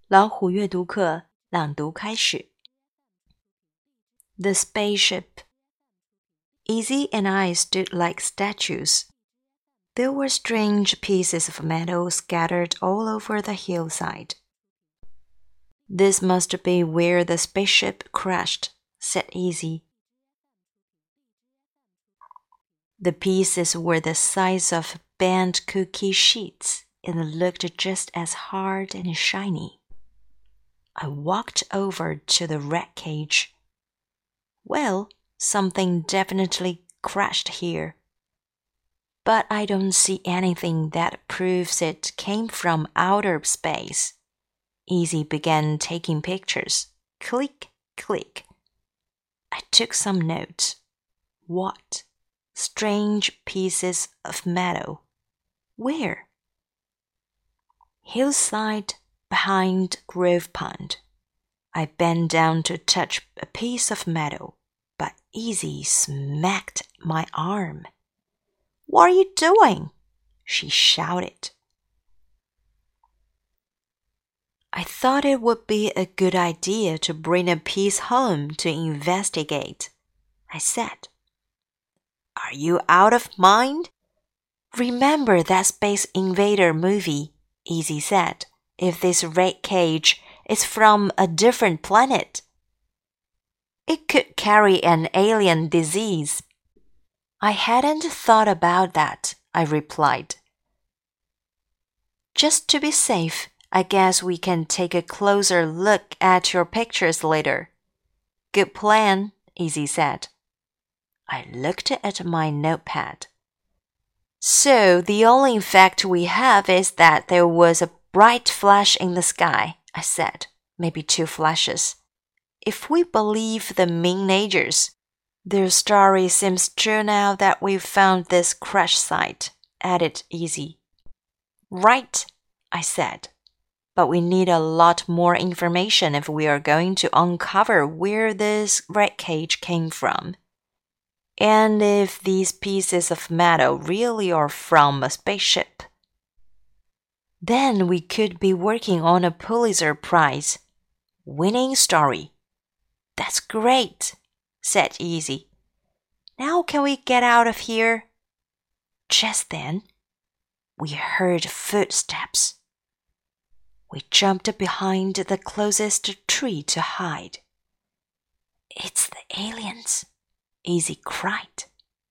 老虎阅读课朗读开始。The spaceship. Easy and I stood like statues. There were strange pieces of metal scattered all over the hillside. This must be where the spaceship crashed, said Easy. The pieces were the size of bent cookie sheets and looked just as hard and shiny. I walked over to the rat cage. Well, something definitely crashed here. But I don't see anything that proves it came from outer space. Easy began taking pictures. Click, click. I took some notes. What? Strange pieces of metal. Where? Hillside behind Grove Pond. I bent down to touch a piece of metal, but Easy smacked my arm. What are you doing? She shouted. I thought it would be a good idea to bring a piece home to investigate, I said. Are you out of mind? Remember that Space Invader movie, Easy said, if this rat cage is from a different planet. It could carry an alien disease. I hadn't thought about that, I replied. Just to be safe, I guess we can take a closer look at your pictures later. Good plan, Easy said. I looked at my notepad. So the only fact we have is that there was a bright flash in the sky, I said, maybe 2 flashes. If we believe the Ming-Nagers, their story seems true now that we've found this crash site, added Easy. Right, I said. But we need a lot more information if we are going to uncover where this rat cage came from. And if these pieces of metal really are from a spaceship. Then we could be working on a Pulitzer Prize winning story. That's great, said Easy. Now can we get out of here? Just then, we heard footsteps. We jumped behind the closest tree to hide. It's the aliens, Easy cried.